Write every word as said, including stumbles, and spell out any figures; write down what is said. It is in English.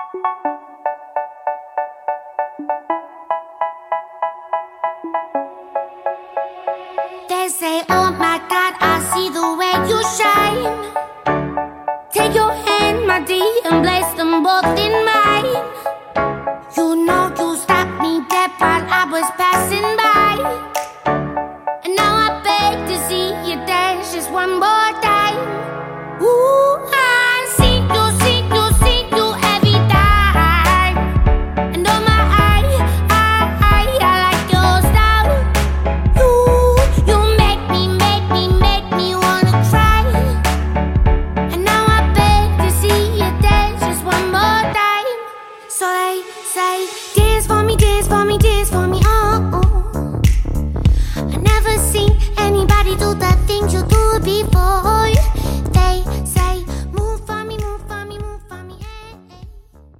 They say, oh my God, I see the way you shine. Take your hand, my dear, and bless